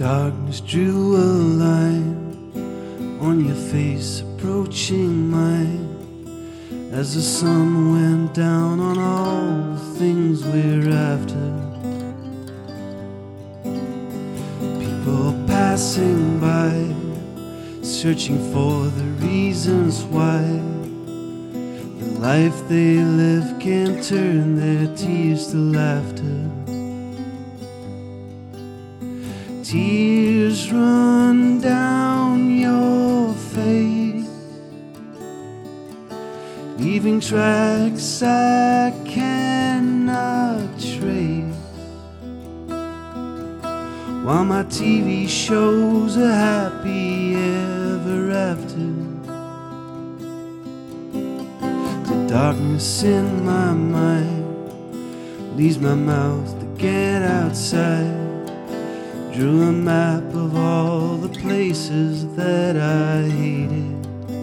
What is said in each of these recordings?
Darkness drew a line on your face, approaching mine, as the sun went down on all the things we're after. People passing by, searching for the reasons why the life they live can't turn their tears to laughter. Tears run down your face, leaving tracks I cannot trace, while my TV shows a happy ever after. The darkness in my mind leaves my mouth to get outside. Drew a map of all the places that I hated.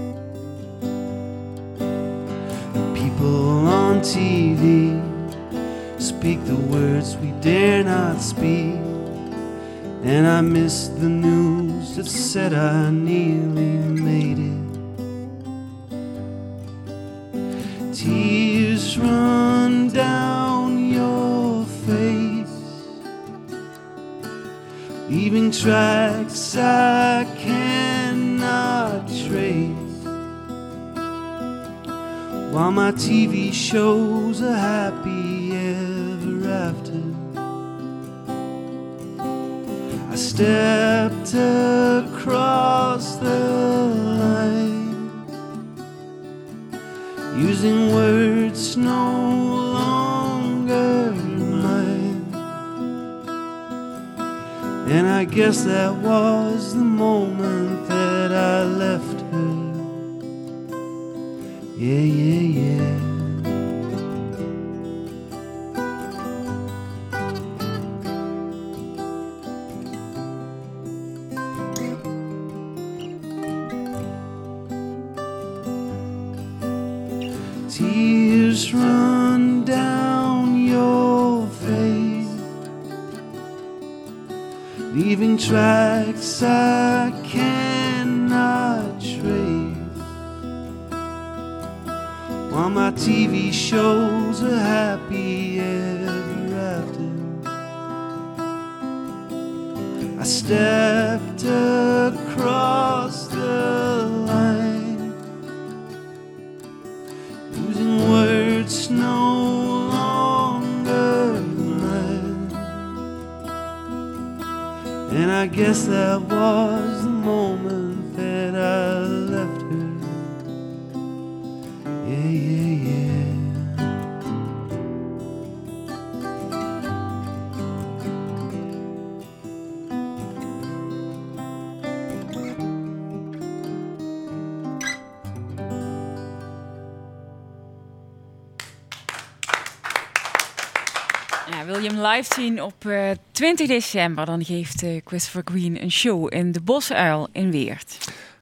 The people on TV speak the words we dare not speak, and I missed the news that said I nearly made it. Tears run down your face, leaving tracks I cannot trace, while my TV shows a happy ever after. I stepped across the line, using words no longer mine, and I guess that was the moment that I left her. Yeah, yeah, yeah. Tears run down your face, leaving tracks I cannot trace, while my TV shows a happy ever after. I stepped across the line, using words no longer mine, and I guess that was the moment that I left her. Yeah, yeah, yeah. Ja, wil je hem live zien op 20 december... dan geeft Christopher Green een show in de Bosuil in Weert.